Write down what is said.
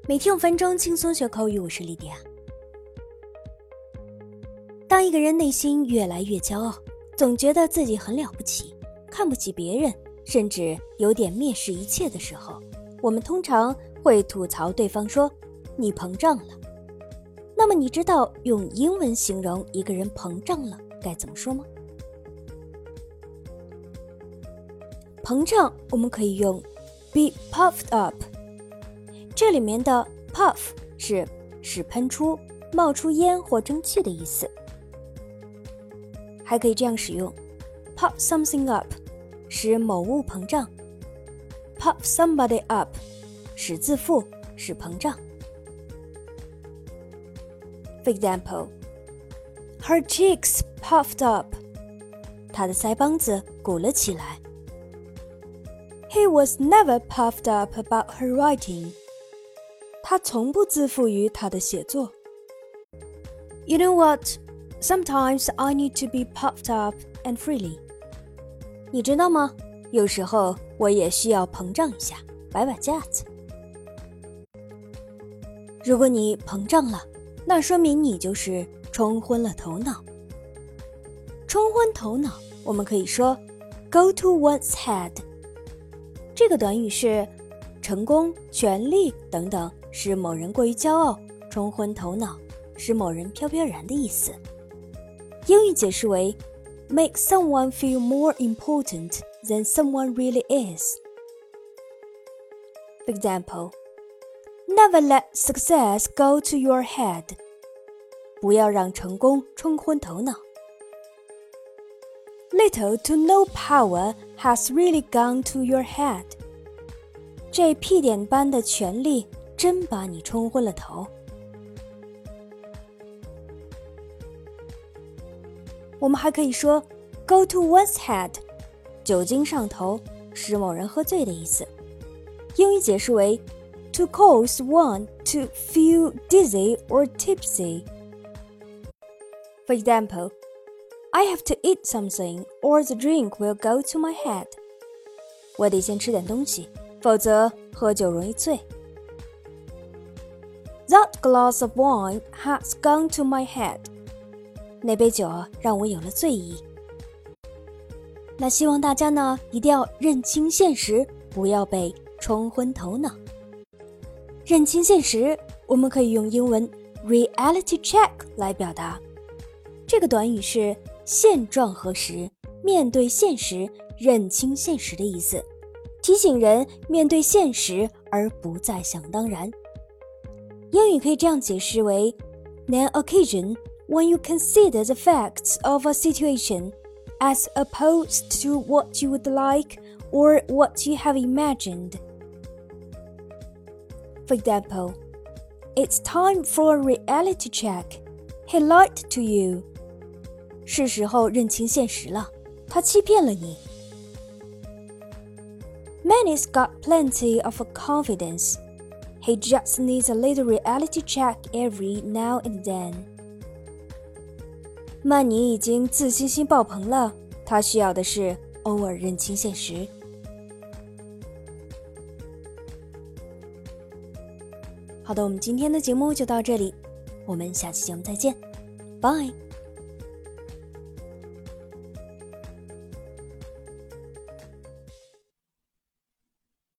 每天5分钟轻松学口语，我是莉迪亚。当一个人内心越来越骄傲，总觉得自己很了不起，看不起别人，甚至有点蔑视一切的时候，我们通常会吐槽对方说你膨胀了。那么你知道用英文形容一个人膨胀了该怎么说吗？膨胀我们可以用 be puffed up， 这里面的 puff 是使喷出、冒出烟或蒸汽的意思。还可以这样使用 puff something up， 使某物膨胀， puff somebody up， 使自负，使膨胀。For example, her cheeks puffed up， 她的腮帮子鼓了起来。He was never puffed up about her writing， 他从不自负于他的写作。You know what?Sometimes I need to be puffed up and freely. 你知道吗？有时候我也需要膨胀一下，摆摆架子。如果你膨胀了，那说明你就是冲昏了头脑。冲昏头脑，我们可以说 go to one's head。这个短语是成功、权力等等，使某人过于骄傲，冲昏头脑，使某人飘飘然的意思。英语解释为 make someone feel more important than someone really is. For example, never let success go to your head. 不要让成功冲昏头脑。Little to no power has really gone to your head. 这屁点般的权力真把你冲昏了头。我们还可以说 go to one's head， 酒精上头，使某人喝醉的意思。英语解释为 to cause one to feel dizzy or tipsy. For example, I have to eat something or the drink will go to my head. 我得先吃点东西，否则喝酒容易醉。That glass of wine has gone to my head.那杯酒让我有了醉意。那希望大家呢一定要认清现实，不要被冲昏头脑。认清现实，我们可以用英文 reality check 来表达。这个短语是现状核实，面对现实，认清现实的意思，提醒人面对现实而不再想当然。英语可以这样解释为 an occasion when you consider the facts of a situation as opposed to what you would like or what you have imagined. For example, it's time for a reality check. He lied to you. 是时候认清现实了，他欺骗了你。Manny's got plenty of confidence. He just needs a little reality check every now and then.曼尼已经自信心爆棚了，他需要的是偶尔认清现实。好的，我们今天的节目就到这里，我们下期节目再见，拜。